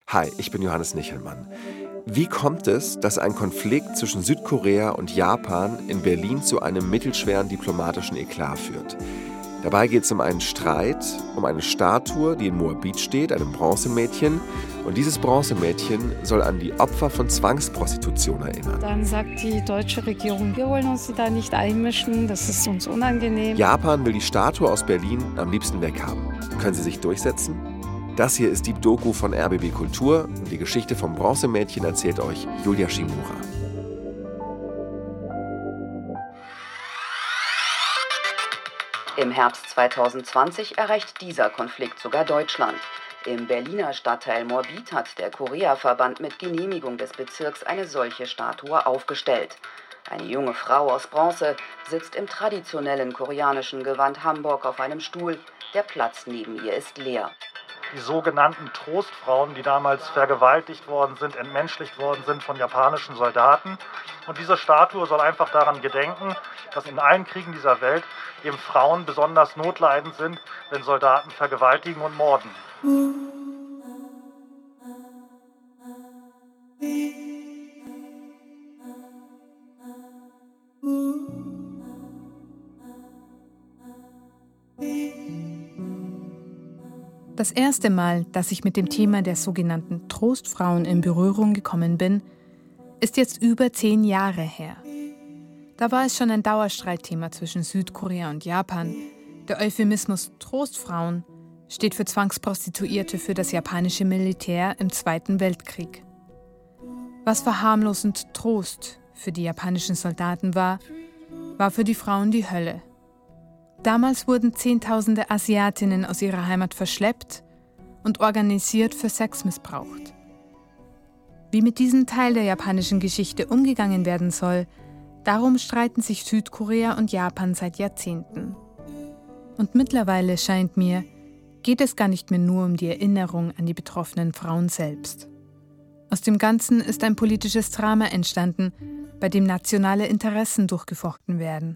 Hi, ich bin Johannes Nichelmann. Wie kommt es, dass ein Konflikt zwischen Südkorea und Japan in Berlin zu einem mittelschweren diplomatischen Eklat führt? Dabei geht es um einen Streit, um eine Statue, die in Moabit steht, einem Bronzemädchen. Und dieses Bronzemädchen soll an die Opfer von Zwangsprostitution erinnern. Dann sagt die deutsche Regierung, wir wollen uns da nicht einmischen, das ist uns unangenehm. Japan will die Statue aus Berlin am liebsten weghaben. Können sie sich durchsetzen? Das hier ist die Doku von RBB Kultur und die Geschichte vom Bronzemädchen erzählt euch Julia Shimura. Im Herbst 2020 erreicht dieser Konflikt sogar Deutschland. Im Berliner Stadtteil Moabit hat der Korea-Verband mit Genehmigung des Bezirks eine solche Statue aufgestellt. Eine junge Frau aus Bronze sitzt im traditionellen koreanischen Gewand Hanbok auf einem Stuhl. Der Platz neben ihr ist leer. Die sogenannten Trostfrauen, die damals vergewaltigt worden sind, entmenschlicht worden sind von japanischen Soldaten. Und diese Statue soll einfach daran gedenken, dass in allen Kriegen dieser Welt eben Frauen besonders notleidend sind, wenn Soldaten vergewaltigen und morden. Das erste Mal, dass ich mit dem Thema der sogenannten Trostfrauen in Berührung gekommen bin, ist jetzt über 10 Jahre her. Da war es schon ein Dauerstreitthema zwischen Südkorea und Japan. Der Euphemismus Trostfrauen steht für Zwangsprostituierte für das japanische Militär im Zweiten Weltkrieg. Was verharmlosend Trost für die japanischen Soldaten war für die Frauen die Hölle. Damals wurden Zehntausende Asiatinnen aus ihrer Heimat verschleppt und organisiert für Sex missbraucht. Wie mit diesem Teil der japanischen Geschichte umgegangen werden soll, darum streiten sich Südkorea und Japan seit Jahrzehnten. Und mittlerweile scheint mir, geht es gar nicht mehr nur um die Erinnerung an die betroffenen Frauen selbst. Aus dem Ganzen ist ein politisches Drama entstanden, bei dem nationale Interessen durchgefochten werden.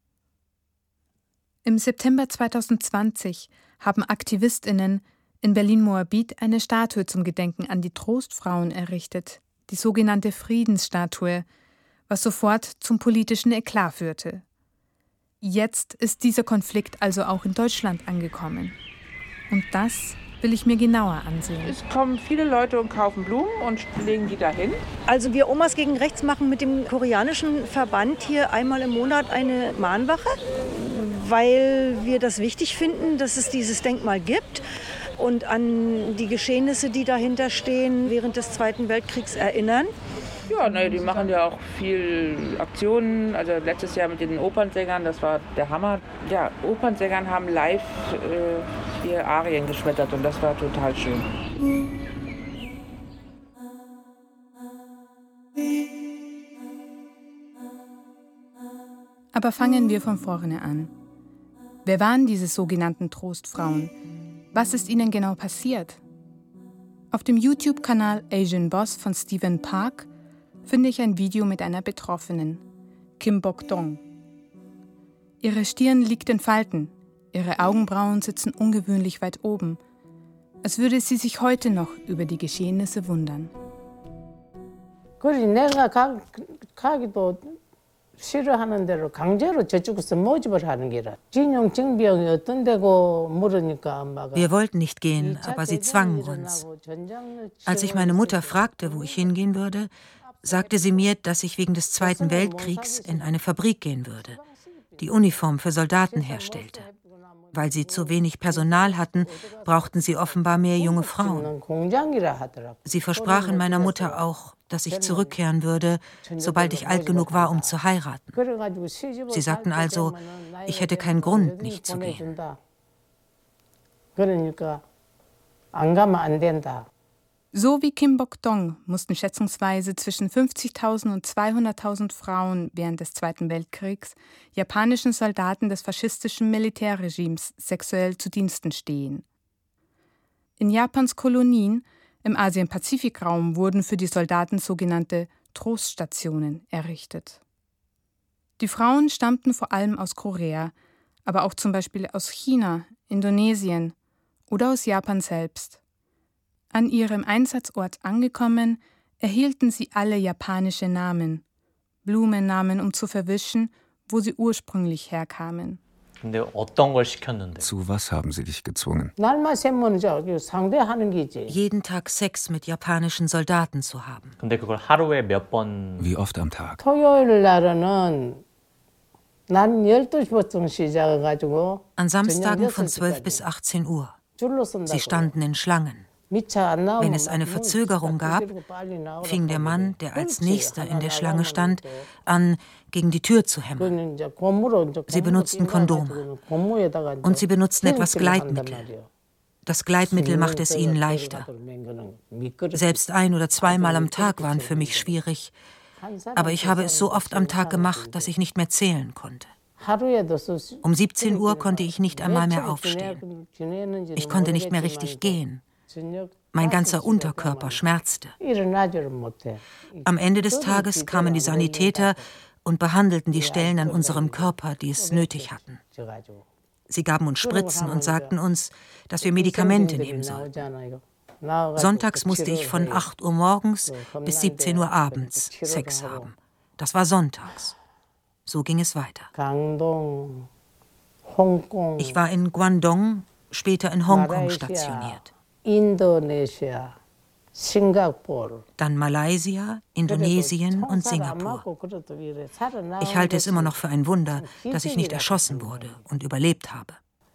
Im September 2020 haben AktivistInnen in Berlin-Moabit eine Statue zum Gedenken an die Trostfrauen errichtet, die sogenannte Friedensstatue, was sofort zum politischen Eklat führte. Jetzt ist dieser Konflikt also auch in Deutschland angekommen. Und das will ich mir genauer ansehen. Es kommen viele Leute und kaufen Blumen und legen die dahin. Also wir Omas gegen Rechts machen mit dem koreanischen Verband hier einmal im Monat eine Mahnwache, weil wir das wichtig finden, dass es dieses Denkmal gibt und an die Geschehnisse, die dahinter stehen, während des Zweiten Weltkriegs erinnern. Ja, die machen ja auch viel Aktionen. Also letztes Jahr mit den Opernsängern, das war der Hammer. Ja, Opernsängern haben live hier Arien geschmettert und das war total schön. Aber fangen wir von vorne an. Wer waren diese sogenannten Trostfrauen? Was ist ihnen genau passiert? Auf dem YouTube-Kanal Asian Boss von Stephen Park finde ich ein Video mit einer Betroffenen, Kim Bok-dong. Ihre Stirn liegt in Falten, ihre Augenbrauen sitzen ungewöhnlich weit oben, als würde sie sich heute noch über die Geschehnisse wundern. Wir wollten nicht gehen, aber sie zwangen uns. Als ich meine Mutter fragte, wo ich hingehen würde, sagte sie mir, dass ich wegen des Zweiten Weltkriegs in eine Fabrik gehen würde, die Uniformen für Soldaten herstellte. Weil sie zu wenig Personal hatten, brauchten sie offenbar mehr junge Frauen. Sie versprachen meiner Mutter auch, dass ich zurückkehren würde, sobald ich alt genug war, um zu heiraten. Sie sagten also, ich hätte keinen Grund, nicht zu gehen. So wie Kim Bok-dong mussten schätzungsweise zwischen 50.000 und 200.000 Frauen während des Zweiten Weltkriegs japanischen Soldaten des faschistischen Militärregimes sexuell zu Diensten stehen. In Japans Kolonien im Asien-Pazifik-Raum wurden für die Soldaten sogenannte Troststationen errichtet. Die Frauen stammten vor allem aus Korea, aber auch zum Beispiel aus China, Indonesien oder aus Japan selbst. An ihrem Einsatzort angekommen, erhielten sie alle japanische Namen, Blumennamen, um zu verwischen, wo sie ursprünglich herkamen. Zu was haben sie dich gezwungen? Jeden Tag Sex mit japanischen Soldaten zu haben. Wie oft am Tag? An Samstagen von 12 bis 18 Uhr. Sie standen in Schlangen. Wenn es eine Verzögerung gab, fing der Mann, der als Nächster in der Schlange stand, an, gegen die Tür zu hämmern. Sie benutzten Kondome. Und sie benutzten etwas Gleitmittel. Das Gleitmittel machte es ihnen leichter. Selbst 1- oder 2-mal am Tag waren für mich schwierig. Aber ich habe es so oft am Tag gemacht, dass ich nicht mehr zählen konnte. Um 17 Uhr konnte ich nicht einmal mehr aufstehen. Ich konnte nicht mehr richtig gehen. Mein ganzer Unterkörper schmerzte. Am Ende des Tages kamen die Sanitäter und behandelten die Stellen an unserem Körper, die es nötig hatten. Sie gaben uns Spritzen und sagten uns, dass wir Medikamente nehmen sollten. Sonntags musste ich von 8 Uhr morgens bis 17 Uhr abends Sex haben. Das war sonntags. So ging es weiter. Ich war in Guangdong, später in Hongkong stationiert. Indonesien, Singapur. Dann Malaysia, Indonesien und Singapur. Ich halte es immer noch für ein Wunder, dass ich nicht erschossen wurde und überlebt habe.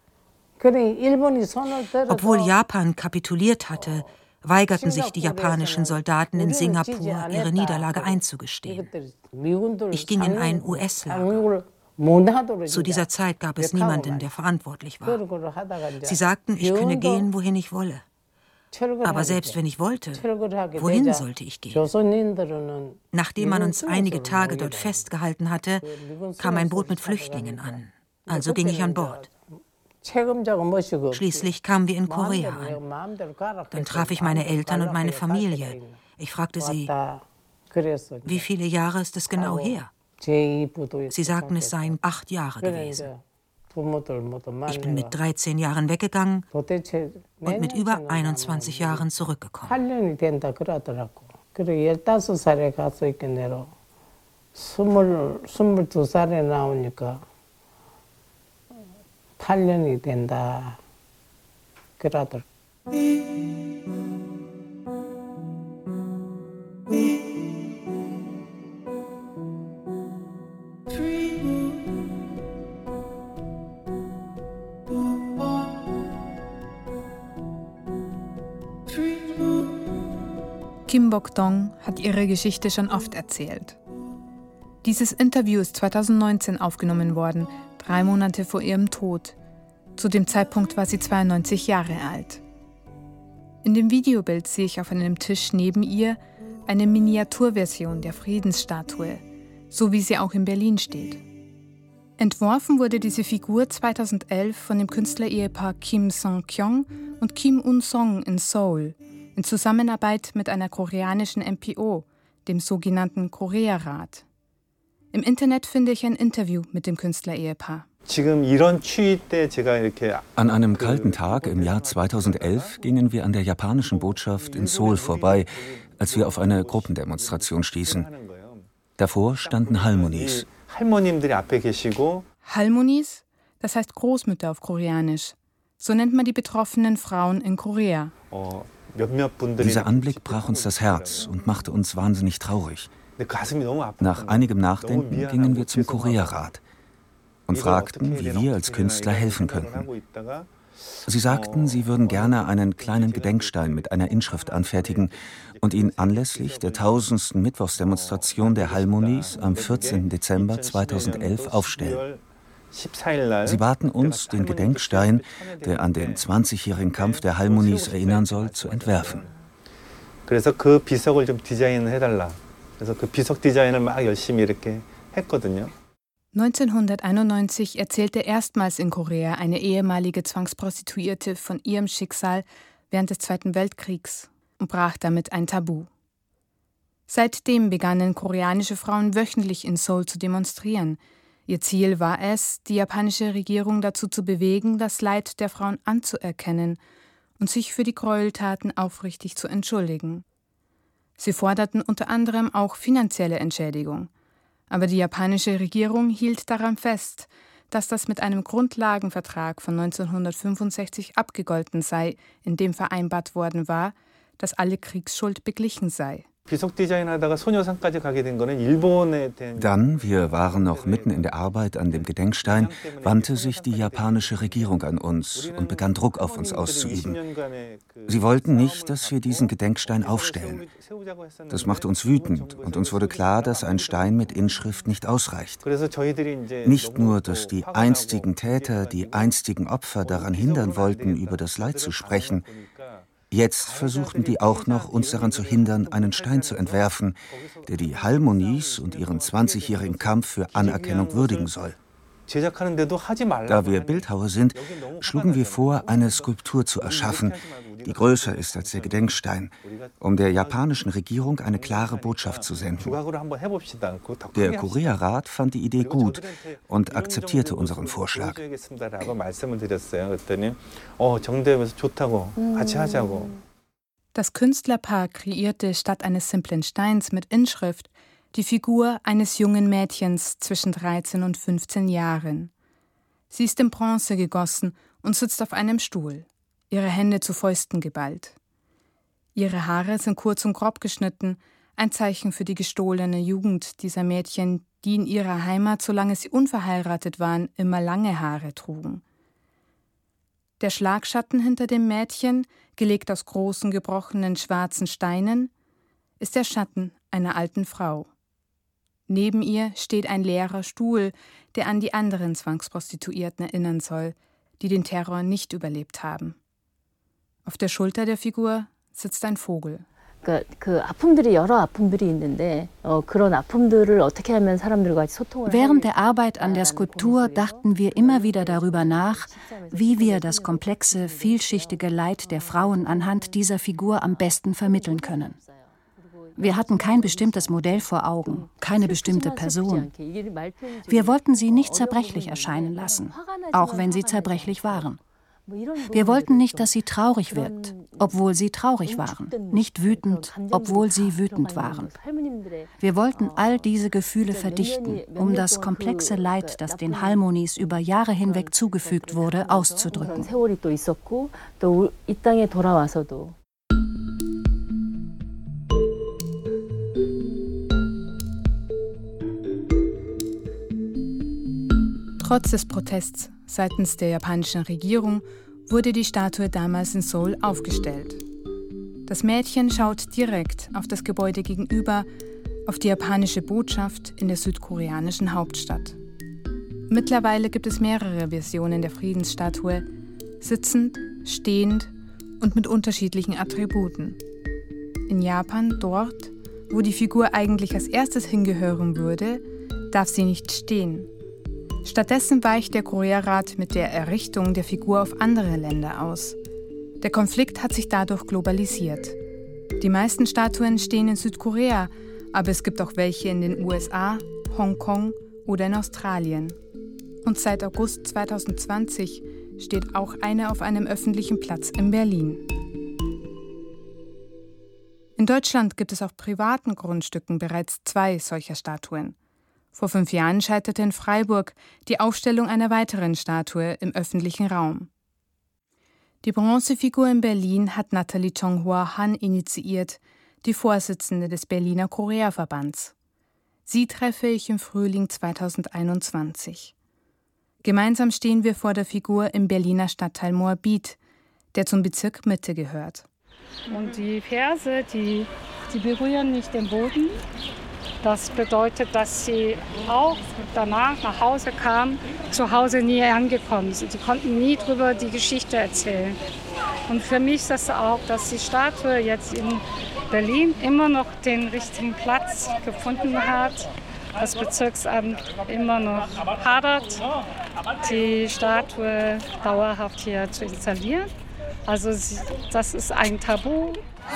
Obwohl Japan kapituliert hatte, weigerten sich die japanischen Soldaten in Singapur, ihre Niederlage einzugestehen. Ich ging in ein US-Lager. Zu dieser Zeit gab es niemanden, der verantwortlich war. Sie sagten, ich könne gehen, wohin ich wolle. Aber selbst wenn ich wollte, wohin sollte ich gehen? Nachdem man uns einige Tage dort festgehalten hatte, kam ein Boot mit Flüchtlingen an. Also ging ich an Bord. Schließlich kamen wir in Korea an. Dann traf ich meine Eltern und meine Familie. Ich fragte sie, wie viele Jahre ist es genau her? Sie sagten, es seien 8 Jahre gewesen. Ich bin mit 13 Jahren weggegangen und mit über 21 Jahren zurückgekommen. 8년이 된다. 그러더라고요. Kim Bok-dong hat ihre Geschichte schon oft erzählt. Dieses Interview ist 2019 aufgenommen worden, 3 Monate vor ihrem Tod. Zu dem Zeitpunkt war sie 92 Jahre alt. In dem Videobild sehe ich auf einem Tisch neben ihr eine Miniaturversion der Friedensstatue, so wie sie auch in Berlin steht. Entworfen wurde diese Figur 2011 von dem Künstlerehepaar Kim Song-kyung und Kim Un-song in Seoul, in Zusammenarbeit mit einer koreanischen NPO, dem sogenannten Korea-Rat. Im Internet finde ich ein Interview mit dem Künstlerehepaar. An einem kalten Tag im Jahr 2011 gingen wir an der japanischen Botschaft in Seoul vorbei, als wir auf eine Gruppendemonstration stießen. Davor standen Halmonis. Halmonis, das heißt Großmütter auf Koreanisch. So nennt man die betroffenen Frauen in Korea. Dieser Anblick brach uns das Herz und machte uns wahnsinnig traurig. Nach einigem Nachdenken gingen wir zum Korea-Rat und fragten, wie wir als Künstler helfen könnten. Sie sagten, sie würden gerne einen kleinen Gedenkstein mit einer Inschrift anfertigen und ihn anlässlich der 1000. Mittwochsdemonstration der Halmonis am 14. Dezember 2011 aufstellen. Sie baten uns, den Gedenkstein, der an den 20-jährigen Kampf der Halmonis erinnern soll, zu entwerfen. 그래서 그 비석을 좀 디자인을 해달라. 그래서 그 비석 디자인을 막 열심히 이렇게 했거든요. 1991 erzählte erstmals in Korea eine ehemalige Zwangsprostituierte von ihrem Schicksal während des Zweiten Weltkriegs und brach damit ein Tabu. Seitdem begannen koreanische Frauen wöchentlich in Seoul zu demonstrieren. Ihr Ziel war es, die japanische Regierung dazu zu bewegen, das Leid der Frauen anzuerkennen und sich für die Gräueltaten aufrichtig zu entschuldigen. Sie forderten unter anderem auch finanzielle Entschädigung. Aber die japanische Regierung hielt daran fest, dass das mit einem Grundlagenvertrag von 1965 abgegolten sei, in dem vereinbart worden war, dass alle Kriegsschuld beglichen sei. Dann, wir waren noch mitten in der Arbeit an dem Gedenkstein, wandte sich die japanische Regierung an uns und begann Druck auf uns auszuüben. Sie wollten nicht, dass wir diesen Gedenkstein aufstellen. Das machte uns wütend und uns wurde klar, dass ein Stein mit Inschrift nicht ausreicht. Nicht nur, dass die einstigen Täter, die einstigen Opfer daran hindern wollten, über das Leid zu sprechen. Jetzt versuchten die auch noch, uns daran zu hindern, einen Stein zu entwerfen, der die Halmonis und ihren 20-jährigen Kampf für Anerkennung würdigen soll. Da wir Bildhauer sind, schlugen wir vor, eine Skulptur zu erschaffen, die größer ist als der Gedenkstein, um der japanischen Regierung eine klare Botschaft zu senden. Der Korea-Rat fand die Idee gut und akzeptierte unseren Vorschlag. Das Künstlerpaar kreierte statt eines simplen Steins mit Inschrift die Figur eines jungen Mädchens zwischen 13 und 15 Jahren. Sie ist in Bronze gegossen und sitzt auf einem Stuhl, ihre Hände zu Fäusten geballt. Ihre Haare sind kurz und grob geschnitten, ein Zeichen für die gestohlene Jugend dieser Mädchen, die in ihrer Heimat, solange sie unverheiratet waren, immer lange Haare trugen. Der Schlagschatten hinter dem Mädchen, gelegt aus großen, gebrochenen schwarzen Steinen, ist der Schatten einer alten Frau. Neben ihr steht ein leerer Stuhl, der an die anderen Zwangsprostituierten erinnern soll, die den Terror nicht überlebt haben. Auf der Schulter der Figur sitzt ein Vogel. Während der Arbeit an der Skulptur dachten wir immer wieder darüber nach, wie wir das komplexe, vielschichtige Leid der Frauen anhand dieser Figur am besten vermitteln können. Wir hatten kein bestimmtes Modell vor Augen, keine bestimmte Person. Wir wollten sie nicht zerbrechlich erscheinen lassen, auch wenn sie zerbrechlich waren. Wir wollten nicht, dass sie traurig wirkt, obwohl sie traurig waren, nicht wütend, obwohl sie wütend waren. Wir wollten all diese Gefühle verdichten, um das komplexe Leid, das den Halmonis über Jahre hinweg zugefügt wurde, auszudrücken. Trotz des Protests seitens der japanischen Regierung wurde die Statue damals in Seoul aufgestellt. Das Mädchen schaut direkt auf das Gebäude gegenüber, auf die japanische Botschaft in der südkoreanischen Hauptstadt. Mittlerweile gibt es mehrere Versionen der Friedensstatue, sitzend, stehend und mit unterschiedlichen Attributen. In Japan, dort, wo die Figur eigentlich als erstes hingehören würde, darf sie nicht stehen. Stattdessen weicht der Korea-Rat mit der Errichtung der Figur auf andere Länder aus. Der Konflikt hat sich dadurch globalisiert. Die meisten Statuen stehen in Südkorea, aber es gibt auch welche in den USA, Hongkong oder in Australien. Und seit August 2020 steht auch eine auf einem öffentlichen Platz in Berlin. In Deutschland gibt es auf privaten Grundstücken bereits 2 solcher Statuen. Vor 5 Jahren scheiterte in Freiburg die Aufstellung einer weiteren Statue im öffentlichen Raum. Die Bronzefigur in Berlin hat Nathalie Chonghua Han initiiert, die Vorsitzende des Berliner Korea-Verbands. Sie treffe ich im Frühling 2021. Gemeinsam stehen wir vor der Figur im Berliner Stadtteil Moabit, der zum Bezirk Mitte gehört. Und die Ferse, die berühren nicht den Boden. Das bedeutet, dass sie auch danach nach Hause kamen, zu Hause nie angekommen sind. Sie konnten nie darüber die Geschichte erzählen. Und für mich ist das auch, dass die Statue jetzt in Berlin immer noch den richtigen Platz gefunden hat. Das Bezirksamt immer noch hadert, die Statue dauerhaft hier zu installieren. Also das ist ein Tabu.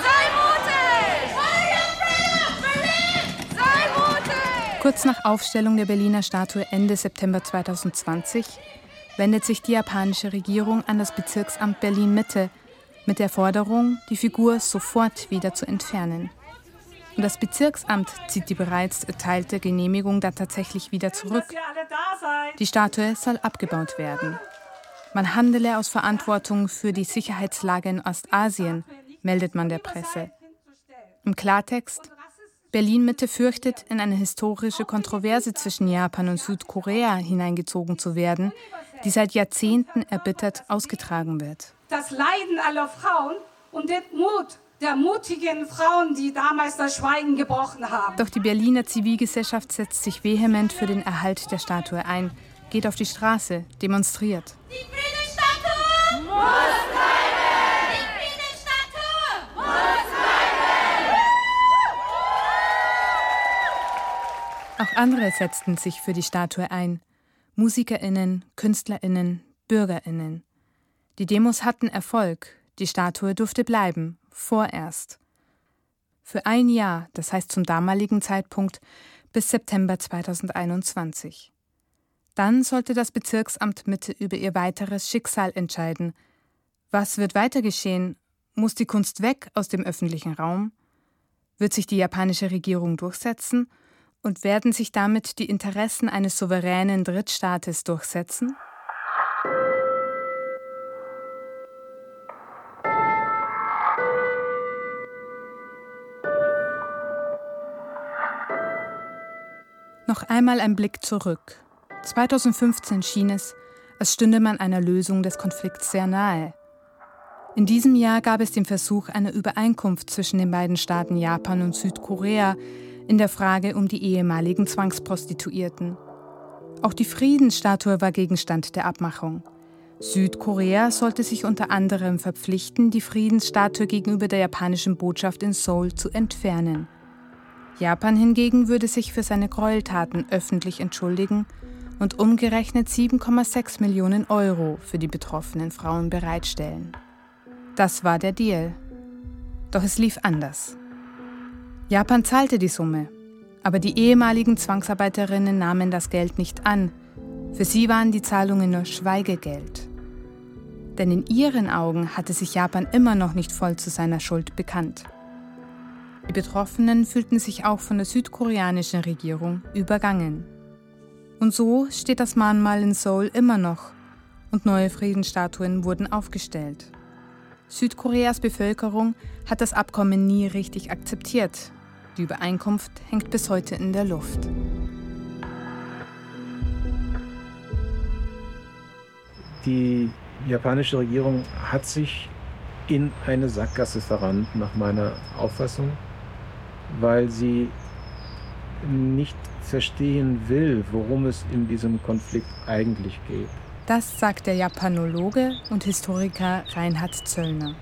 Kurz nach Aufstellung der Berliner Statue Ende September 2020 wendet sich die japanische Regierung an das Bezirksamt Berlin-Mitte mit der Forderung, die Figur sofort wieder zu entfernen. Und das Bezirksamt zieht die bereits erteilte Genehmigung dann tatsächlich wieder zurück. Die Statue soll abgebaut werden. Man handele aus Verantwortung für die Sicherheitslage in Ostasien, meldet man der Presse. Im Klartext: Berlin-Mitte fürchtet, in eine historische Kontroverse zwischen Japan und Südkorea hineingezogen zu werden, die seit Jahrzehnten erbittert ausgetragen wird. Das Leiden aller Frauen und den Mut der mutigen Frauen, die damals das Schweigen gebrochen haben. Doch die Berliner Zivilgesellschaft setzt sich vehement für den Erhalt der Statue ein, geht auf die Straße, demonstriert. Die Friedensstatue muss bleiben! Die Friedensstatue muss bleiben! Auch andere setzten sich für die Statue ein. MusikerInnen, KünstlerInnen, BürgerInnen. Die Demos hatten Erfolg. Die Statue durfte bleiben, vorerst. Für ein Jahr, das heißt zum damaligen Zeitpunkt bis September 2021. Dann sollte das Bezirksamt Mitte über ihr weiteres Schicksal entscheiden. Was wird weiter geschehen? Muss die Kunst weg aus dem öffentlichen Raum? Wird sich die japanische Regierung durchsetzen? Und werden sich damit die Interessen eines souveränen Drittstaates durchsetzen? Noch einmal ein Blick zurück. 2015 schien es, als stünde man einer Lösung des Konflikts sehr nahe. In diesem Jahr gab es den Versuch einer Übereinkunft zwischen den beiden Staaten Japan und Südkorea in der Frage um die ehemaligen Zwangsprostituierten. Auch die Friedensstatue war Gegenstand der Abmachung. Südkorea sollte sich unter anderem verpflichten, die Friedensstatue gegenüber der japanischen Botschaft in Seoul zu entfernen. Japan hingegen würde sich für seine Gräueltaten öffentlich entschuldigen und umgerechnet 7,6 Millionen Euro für die betroffenen Frauen bereitstellen. Das war der Deal. Doch es lief anders. Japan zahlte die Summe, aber die ehemaligen Zwangsarbeiterinnen nahmen das Geld nicht an. Für sie waren die Zahlungen nur Schweigegeld. Denn in ihren Augen hatte sich Japan immer noch nicht voll zu seiner Schuld bekannt. Die Betroffenen fühlten sich auch von der südkoreanischen Regierung übergangen. Und so steht das Mahnmal in Seoul immer noch und neue Friedensstatuen wurden aufgestellt. Südkoreas Bevölkerung hat das Abkommen nie richtig akzeptiert. Die Übereinkunft hängt bis heute in der Luft. Die japanische Regierung hat sich in eine Sackgasse verrannt, nach meiner Auffassung, weil sie nicht verstehen will, worum es in diesem Konflikt eigentlich geht. Das sagt der Japanologe und Historiker Reinhard Zöllner.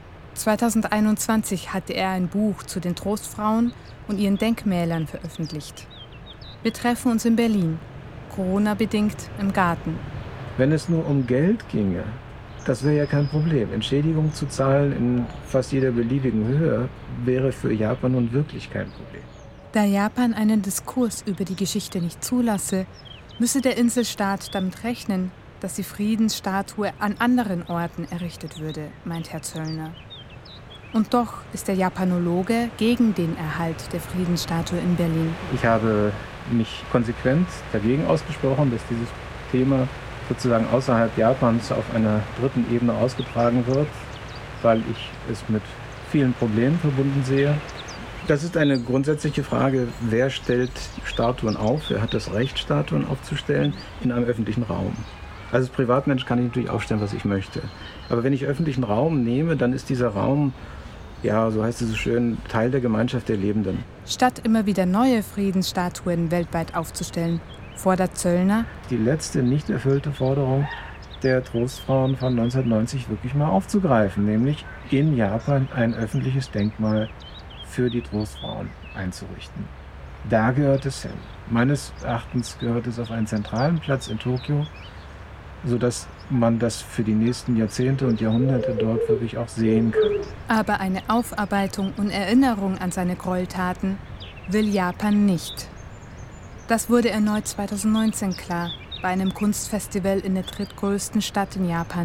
2021 hatte er ein Buch zu den Trostfrauen und ihren Denkmälern veröffentlicht. Wir treffen uns in Berlin, Corona-bedingt im Garten. Wenn es nur um Geld ginge, das wäre ja kein Problem. Entschädigung zu zahlen in fast jeder beliebigen Höhe wäre für Japan nun wirklich kein Problem. Da Japan einen Diskurs über die Geschichte nicht zulasse, müsse der Inselstaat damit rechnen, dass die Friedensstatue an anderen Orten errichtet würde, meint Herr Zöllner. Und doch ist der Japanologe gegen den Erhalt der Friedensstatue in Berlin. Ich habe mich konsequent dagegen ausgesprochen, dass dieses Thema sozusagen außerhalb Japans auf einer dritten Ebene ausgetragen wird, weil ich es mit vielen Problemen verbunden sehe. Das ist eine grundsätzliche Frage, wer stellt Statuen auf, wer hat das Recht, Statuen aufzustellen in einem öffentlichen Raum. Als Privatmensch kann ich natürlich aufstellen, was ich möchte. Aber wenn ich öffentlichen Raum nehme, dann ist dieser Raum, ja, so heißt es so schön, Teil der Gemeinschaft der Lebenden. Statt immer wieder neue Friedensstatuen weltweit aufzustellen, fordert Zöllner, die letzte nicht erfüllte Forderung der Trostfrauen von 1990 wirklich mal aufzugreifen, nämlich in Japan ein öffentliches Denkmal für die Trostfrauen einzurichten. Da gehört es hin. Meines Erachtens gehört es auf einen zentralen Platz in Tokio, sodass man das für die nächsten Jahrzehnte und Jahrhunderte dort wirklich auch sehen kann. Aber eine Aufarbeitung und Erinnerung an seine Gräueltaten will Japan nicht. Das wurde erneut 2019 klar, bei einem Kunstfestival in der drittgrößten Stadt in Japan,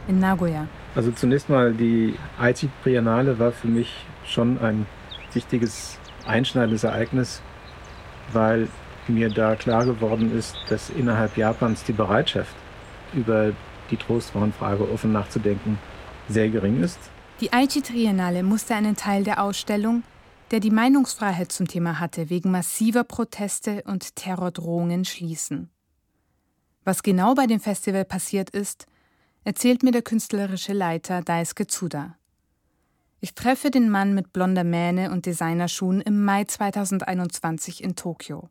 in Nagoya. Also zunächst mal, die Aichi Triennale war für mich schon ein wichtiges, einschneidendes Ereignis, weil mir da klar geworden ist, dass innerhalb Japans die Bereitschaft, über die Trostfrauenfrage offen nachzudenken, sehr gering ist. Die Aichi Triennale musste einen Teil der Ausstellung, der die Meinungsfreiheit zum Thema hatte, wegen massiver Proteste und Terrordrohungen schließen. Was genau bei dem Festival passiert ist, erzählt mir der künstlerische Leiter Daisuke Tsuda. Ich treffe den Mann mit blonder Mähne und Designerschuhen im Mai 2021 in Tokio.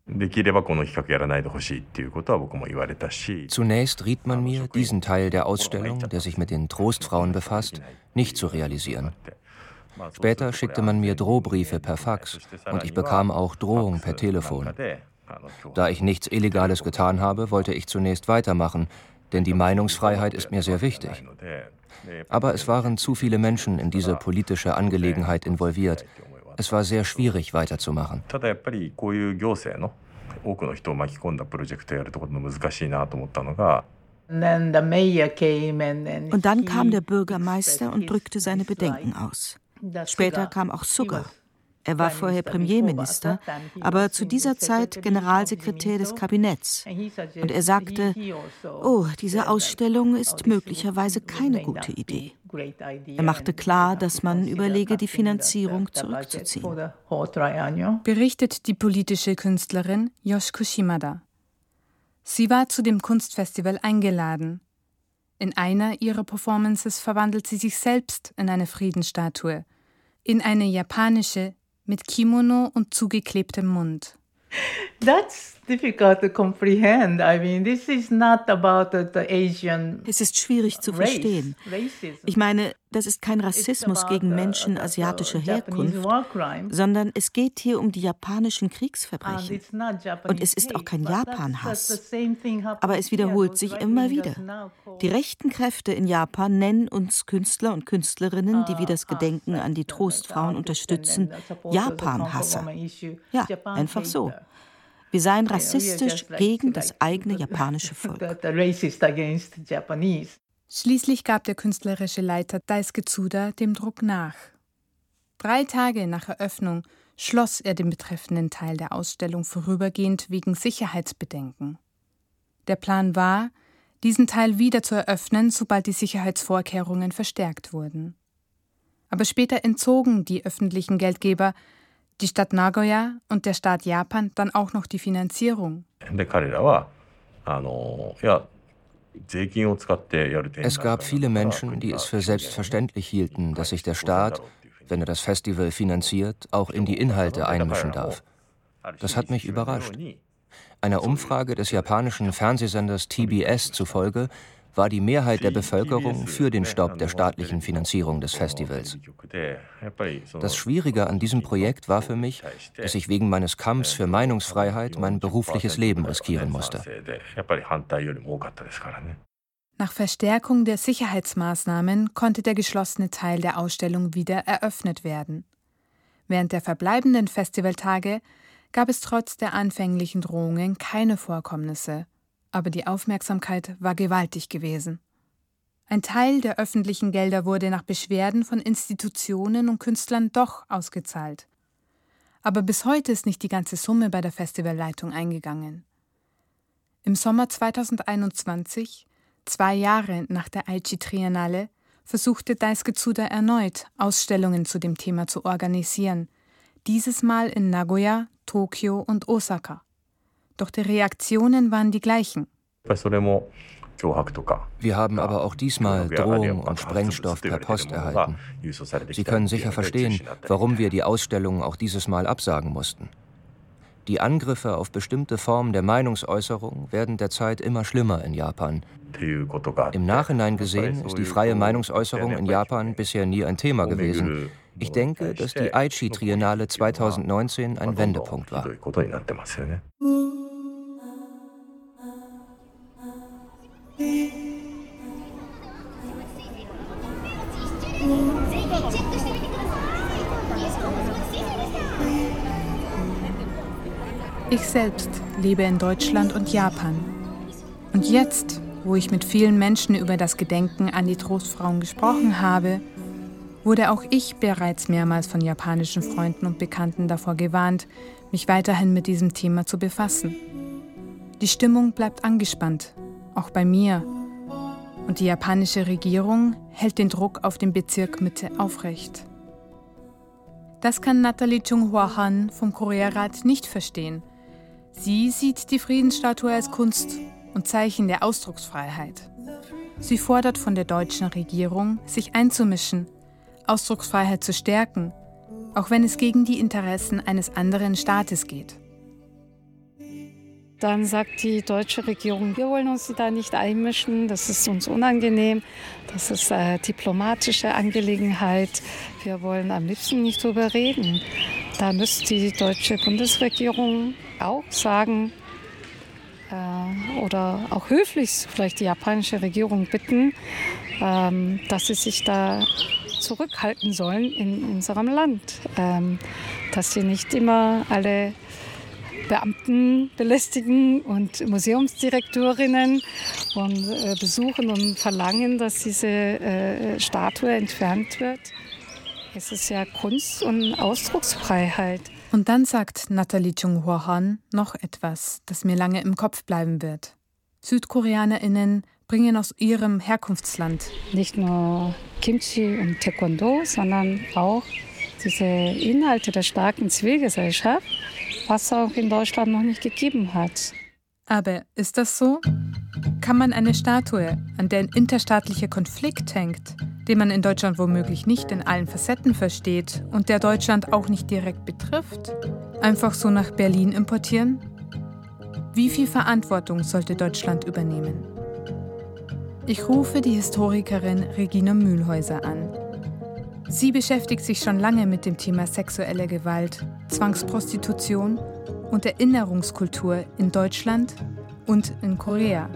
Zunächst riet man mir, diesen Teil der Ausstellung, der sich mit den Trostfrauen befasst, nicht zu realisieren. Später schickte man mir Drohbriefe per Fax und ich bekam auch Drohungen per Telefon. Da ich nichts Illegales getan habe, wollte ich zunächst weitermachen, denn die Meinungsfreiheit ist mir sehr wichtig. Aber es waren zu viele Menschen in diese politische Angelegenheit involviert. Es war sehr schwierig, weiterzumachen. Und dann kam der Bürgermeister und drückte seine Bedenken aus. Später kam auch Suga. Er war vorher Premierminister, aber zu dieser Zeit Generalsekretär des Kabinetts. Und er sagte, oh, diese Ausstellung ist möglicherweise keine gute Idee. Er machte klar, dass man überlege, die Finanzierung zurückzuziehen. Berichtet die politische Künstlerin Yoshiko Shimada. Sie war zu dem Kunstfestival eingeladen. In einer ihrer Performances verwandelt sie sich selbst in eine Friedensstatue, in eine japanische, mit Kimono und zugeklebtem Mund. That's difficult to comprehend. I mean, this is not about the Asian. Es ist schwierig zu verstehen. Ich meine, das ist kein Rassismus gegen Menschen asiatischer Herkunft, sondern es geht hier um die japanischen Kriegsverbrechen. Und es ist auch kein Japan-Hass. Aber es wiederholt sich immer wieder. Die rechten Kräfte in Japan nennen uns Künstler und Künstlerinnen, die wir das Gedenken an die Trostfrauen unterstützen, Japan-Hasser. Ja, einfach so. Wir seien rassistisch gegen das eigene japanische Volk. Schließlich gab der künstlerische Leiter Daisuke Tsuda dem Druck nach. 3 Tage nach Eröffnung schloss er den betreffenden Teil der Ausstellung vorübergehend wegen Sicherheitsbedenken. Der Plan war, diesen Teil wieder zu eröffnen, sobald die Sicherheitsvorkehrungen verstärkt wurden. Aber später entzogen die öffentlichen Geldgeber, die Stadt Nagoya und der Staat Japan, dann auch noch die Finanzierung. Es gab viele Menschen, die es für selbstverständlich hielten, dass sich der Staat, wenn er das Festival finanziert, auch in die Inhalte einmischen darf. Das hat mich überrascht. Einer Umfrage des japanischen Fernsehsenders TBS zufolge war die Mehrheit der Bevölkerung für den Stopp der staatlichen Finanzierung des Festivals. Das Schwierige an diesem Projekt war für mich, dass ich wegen meines Kampfs für Meinungsfreiheit mein berufliches Leben riskieren musste. Nach Verstärkung der Sicherheitsmaßnahmen konnte der geschlossene Teil der Ausstellung wieder eröffnet werden. Während der verbleibenden Festivaltage gab es trotz der anfänglichen Drohungen keine Vorkommnisse. Aber die Aufmerksamkeit war gewaltig gewesen. Ein Teil der öffentlichen Gelder wurde nach Beschwerden von Institutionen und Künstlern doch ausgezahlt. Aber bis heute ist nicht die ganze Summe bei der Festivalleitung eingegangen. Im Sommer 2021, 2 Jahre nach der Aichi Triennale, versuchte Daisuke Tsuda erneut, Ausstellungen zu dem Thema zu organisieren. Dieses Mal in Nagoya, Tokio und Osaka. Doch die Reaktionen waren die gleichen. Wir haben aber auch diesmal Drohungen und Sprengstoff per Post erhalten. Sie können sicher verstehen, warum wir die Ausstellung auch dieses Mal absagen mussten. Die Angriffe auf bestimmte Formen der Meinungsäußerung werden derzeit immer schlimmer in Japan. Im Nachhinein gesehen ist die freie Meinungsäußerung in Japan bisher nie ein Thema gewesen. Ich denke, dass die Aichi Triennale 2019 ein Wendepunkt war. Ich selbst lebe in Deutschland und Japan. Und jetzt, wo ich mit vielen Menschen über das Gedenken an die Trostfrauen gesprochen habe, wurde auch ich bereits mehrmals von japanischen Freunden und Bekannten davor gewarnt, mich weiterhin mit diesem Thema zu befassen. Die Stimmung bleibt angespannt, auch bei mir. Und die japanische Regierung hält den Druck auf den Bezirk Mitte aufrecht. Das kann Nathalie Chung-Hwa Han vom Korea-Rat nicht verstehen. Sie sieht die Friedensstatue als Kunst und Zeichen der Ausdrucksfreiheit. Sie fordert von der deutschen Regierung, sich einzumischen, Ausdrucksfreiheit zu stärken, auch wenn es gegen die Interessen eines anderen Staates geht. Dann sagt die deutsche Regierung, wir wollen uns da nicht einmischen, das ist uns unangenehm, das ist eine diplomatische Angelegenheit, wir wollen am liebsten nicht drüber reden. Da müsste die deutsche Bundesregierung auch sagen oder auch höflich vielleicht die japanische Regierung bitten, dass sie sich da zurückhalten sollen in unserem Land, dass sie nicht immer alle Beamten belästigen und Museumsdirektorinnen und besuchen und verlangen, dass diese Statue entfernt wird. Es ist ja Kunst und Ausdrucksfreiheit. Und dann sagt Nathalie Chung-Hwa Han noch etwas, das mir lange im Kopf bleiben wird. SüdkoreanerInnen bringen aus ihrem Herkunftsland nicht nur Kimchi und Taekwondo, sondern auch diese Inhalte der starken Zivilgesellschaft, was auch in Deutschland noch nicht gegeben hat. Aber ist das so? Kann man eine Statue, an der ein interstaatlicher Konflikt hängt, den man in Deutschland womöglich nicht in allen Facetten versteht und der Deutschland auch nicht direkt betrifft, einfach so nach Berlin importieren? Wie viel Verantwortung sollte Deutschland übernehmen? Ich rufe die Historikerin Regina Mühlhäuser an. Sie beschäftigt sich schon lange mit dem Thema sexuelle Gewalt, Zwangsprostitution und Erinnerungskultur in Deutschland und in Korea.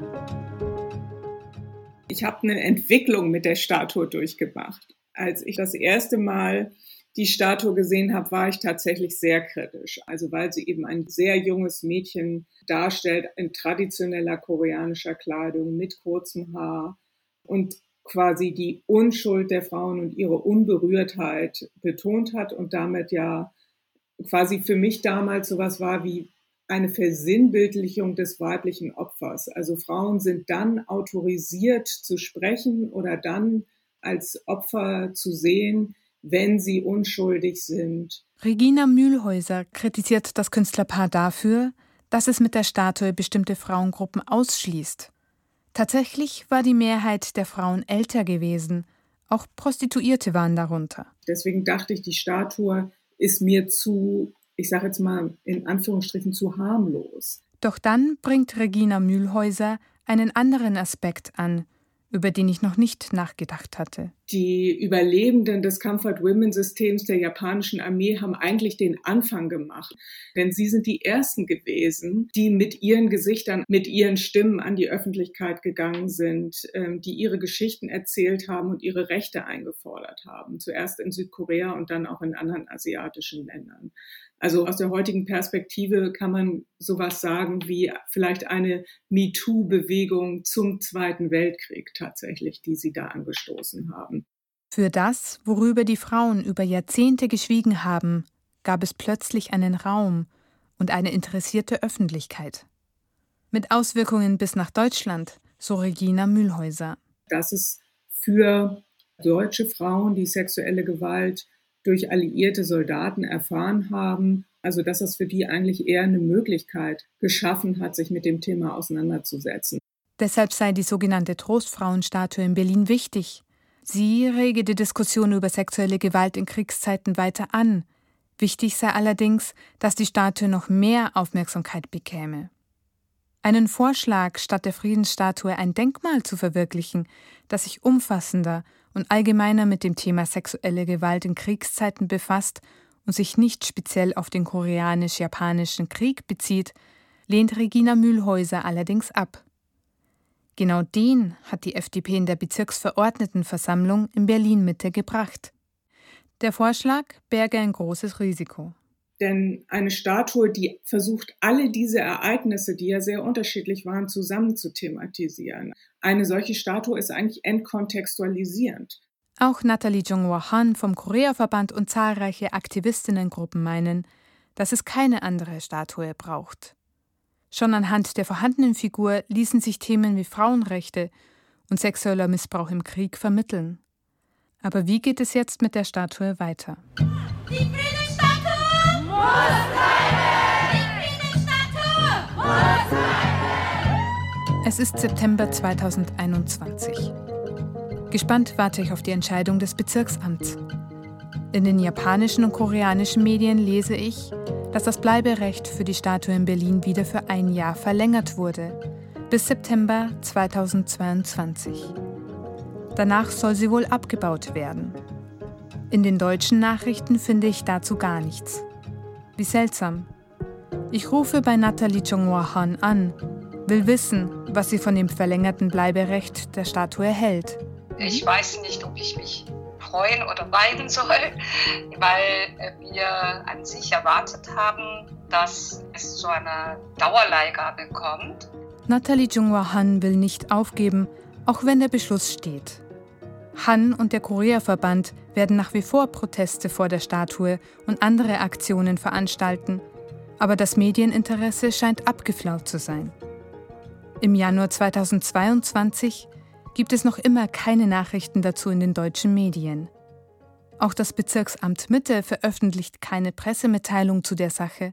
Ich habe eine Entwicklung mit der Statue durchgemacht. Als ich das erste Mal die Statue gesehen habe, war ich tatsächlich sehr kritisch. Also weil sie eben ein sehr junges Mädchen darstellt in traditioneller koreanischer Kleidung mit kurzem Haar und quasi die Unschuld der Frauen und ihre Unberührtheit betont hat und damit ja quasi für mich damals sowas war wie eine Versinnbildlichung des weiblichen Opfers. Also Frauen sind dann autorisiert zu sprechen oder dann als Opfer zu sehen, wenn sie unschuldig sind. Regina Mühlhäuser kritisiert das Künstlerpaar dafür, dass es mit der Statue bestimmte Frauengruppen ausschließt. Tatsächlich war die Mehrheit der Frauen älter gewesen. Auch Prostituierte waren darunter. Deswegen dachte ich, die Statue ist mir zu, ich sage jetzt mal in Anführungsstrichen, zu harmlos. Doch dann bringt Regina Mühlhäuser einen anderen Aspekt an, über den ich noch nicht nachgedacht hatte. Die Überlebenden des Comfort-Women-Systems der japanischen Armee haben eigentlich den Anfang gemacht. Denn sie sind die Ersten gewesen, die mit ihren Gesichtern, mit ihren Stimmen an die Öffentlichkeit gegangen sind, die ihre Geschichten erzählt haben und ihre Rechte eingefordert haben. Zuerst in Südkorea und dann auch in anderen asiatischen Ländern. Also aus der heutigen Perspektive kann man sowas sagen wie vielleicht eine MeToo-Bewegung zum Zweiten Weltkrieg tatsächlich, die sie da angestoßen haben. Für das, worüber die Frauen über Jahrzehnte geschwiegen haben, gab es plötzlich einen Raum und eine interessierte Öffentlichkeit. Mit Auswirkungen bis nach Deutschland, so Regina Mühlhäuser. Dass es für deutsche Frauen, die sexuelle Gewalt durch alliierte Soldaten erfahren haben, also dass das für die eigentlich eher eine Möglichkeit geschaffen hat, sich mit dem Thema auseinanderzusetzen. Deshalb sei die sogenannte Trostfrauenstatue in Berlin wichtig. Sie rege die Diskussion über sexuelle Gewalt in Kriegszeiten weiter an. Wichtig sei allerdings, dass die Statue noch mehr Aufmerksamkeit bekäme. Einen Vorschlag, statt der Friedensstatue ein Denkmal zu verwirklichen, das sich umfassender und allgemeiner mit dem Thema sexuelle Gewalt in Kriegszeiten befasst und sich nicht speziell auf den koreanisch-japanischen Krieg bezieht, lehnt Regina Mühlhäuser allerdings ab. Genau den hat die FDP in der Bezirksverordnetenversammlung in Berlin-Mitte gebracht. Der Vorschlag berge ein großes Risiko. Denn eine Statue, die versucht, alle diese Ereignisse, die ja sehr unterschiedlich waren, zusammen zu thematisieren. Eine solche Statue ist eigentlich entkontextualisierend. Auch Nathalie Jong-hwa Han vom Korea-Verband und zahlreiche Aktivistinnengruppen meinen, dass es keine andere Statue braucht. Schon anhand der vorhandenen Figur ließen sich Themen wie Frauenrechte und sexueller Missbrauch im Krieg vermitteln. Aber wie geht es jetzt mit der Statue weiter? Die Friedensstatue muss bleiben! Die Friedensstatue muss bleiben! Es ist September 2021. Gespannt warte ich auf die Entscheidung des Bezirksamts. In den japanischen und koreanischen Medien lese ich, dass das Bleiberecht für die Statue in Berlin wieder für 1 Jahr verlängert wurde, bis September 2022. Danach soll sie wohl abgebaut werden. In den deutschen Nachrichten finde ich dazu gar nichts. Wie seltsam. Ich rufe bei Nathalie Jong-hwa Han an, will wissen, was sie von dem verlängerten Bleiberecht der Statue hält. Ich weiß nicht, ob ich mich freuen oder weinen soll, weil wir an sich erwartet haben, dass es zu einer Dauerleihgabe kommt. Nathalie Jong-hwa Han will nicht aufgeben, auch wenn der Beschluss steht. Han und der Korea-Verband werden nach wie vor Proteste vor der Statue und andere Aktionen veranstalten, aber das Medieninteresse scheint abgeflaut zu sein. Im Januar 2022 gibt es noch immer keine Nachrichten dazu in den deutschen Medien. Auch das Bezirksamt Mitte veröffentlicht keine Pressemitteilung zu der Sache.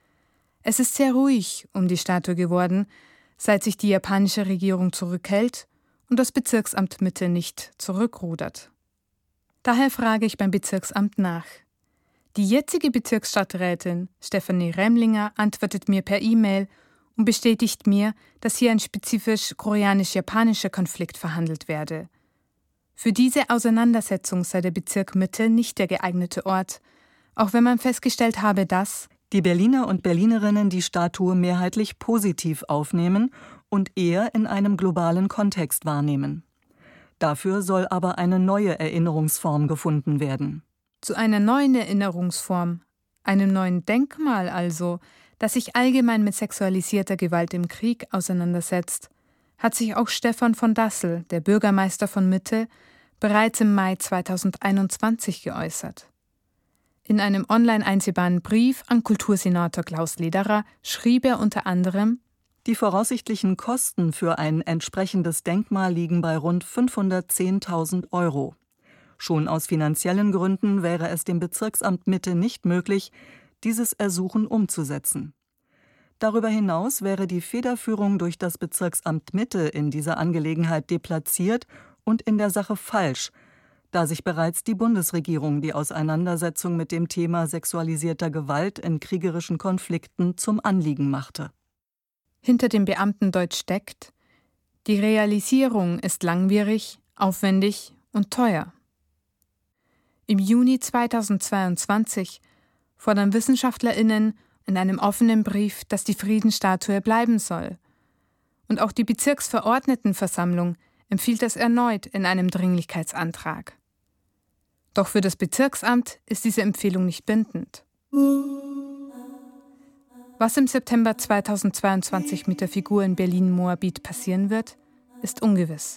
Es ist sehr ruhig um die Statue geworden, seit sich die japanische Regierung zurückhält und das Bezirksamt Mitte nicht zurückrudert. Daher frage ich beim Bezirksamt nach. Die jetzige Bezirksstadträtin Stefanie Remlinger antwortet mir per E-Mail und bestätigt mir, dass hier ein spezifisch koreanisch-japanischer Konflikt verhandelt werde. Für diese Auseinandersetzung sei der Bezirk Mitte nicht der geeignete Ort, auch wenn man festgestellt habe, dass die Berliner und Berlinerinnen die Statue mehrheitlich positiv aufnehmen und eher in einem globalen Kontext wahrnehmen. Dafür soll aber eine neue Erinnerungsform gefunden werden. Zu einer neuen Erinnerungsform, einem neuen Denkmal also, das sich allgemein mit sexualisierter Gewalt im Krieg auseinandersetzt, hat sich auch Stefan von Dassel, der Bürgermeister von Mitte, bereits im Mai 2021 geäußert. In einem online einsehbaren Brief an Kultursenator Klaus Lederer schrieb er unter anderem: Die voraussichtlichen Kosten für ein entsprechendes Denkmal liegen bei rund 510.000 €. Schon aus finanziellen Gründen wäre es dem Bezirksamt Mitte nicht möglich, dieses Ersuchen umzusetzen. Darüber hinaus wäre die Federführung durch das Bezirksamt Mitte in dieser Angelegenheit deplatziert und in der Sache falsch, da sich bereits die Bundesregierung die Auseinandersetzung mit dem Thema sexualisierter Gewalt in kriegerischen Konflikten zum Anliegen machte. Hinter dem Beamtendeutsch steckt: Die Realisierung ist langwierig, aufwendig und teuer. Im Juni 2022 fordern WissenschaftlerInnen in einem offenen Brief, dass die Friedensstatue bleiben soll. Und auch die Bezirksverordnetenversammlung empfiehlt das erneut in einem Dringlichkeitsantrag. Doch für das Bezirksamt ist diese Empfehlung nicht bindend. Was im September 2022 mit der Figur in Berlin-Moabit passieren wird, ist ungewiss.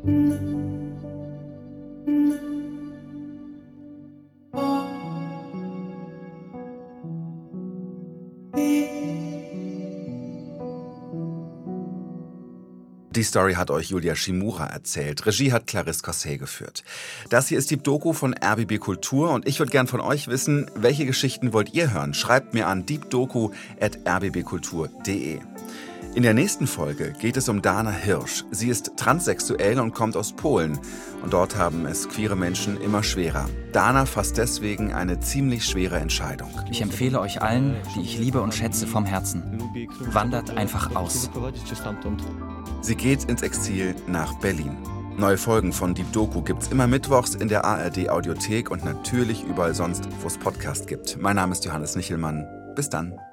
Die Story hat euch Julia Shimura erzählt. Regie hat Clarisse Cosset geführt. Das hier ist die Doku von RBB Kultur und ich würde gern von euch wissen, welche Geschichten wollt ihr hören? Schreibt mir an deepdoku@rbbkultur.de. In der nächsten Folge geht es um Dana Hirsch. Sie ist transsexuell und kommt aus Polen. Und dort haben es queere Menschen immer schwerer. Dana fasst deswegen eine ziemlich schwere Entscheidung. Ich empfehle euch allen, die ich liebe und schätze vom Herzen, wandert einfach aus. Sie geht ins Exil nach Berlin. Neue Folgen von Deep Doku gibt's immer mittwochs in der ARD Audiothek und natürlich überall sonst, wo es Podcast gibt. Mein Name ist Johannes Nichelmann. Bis dann.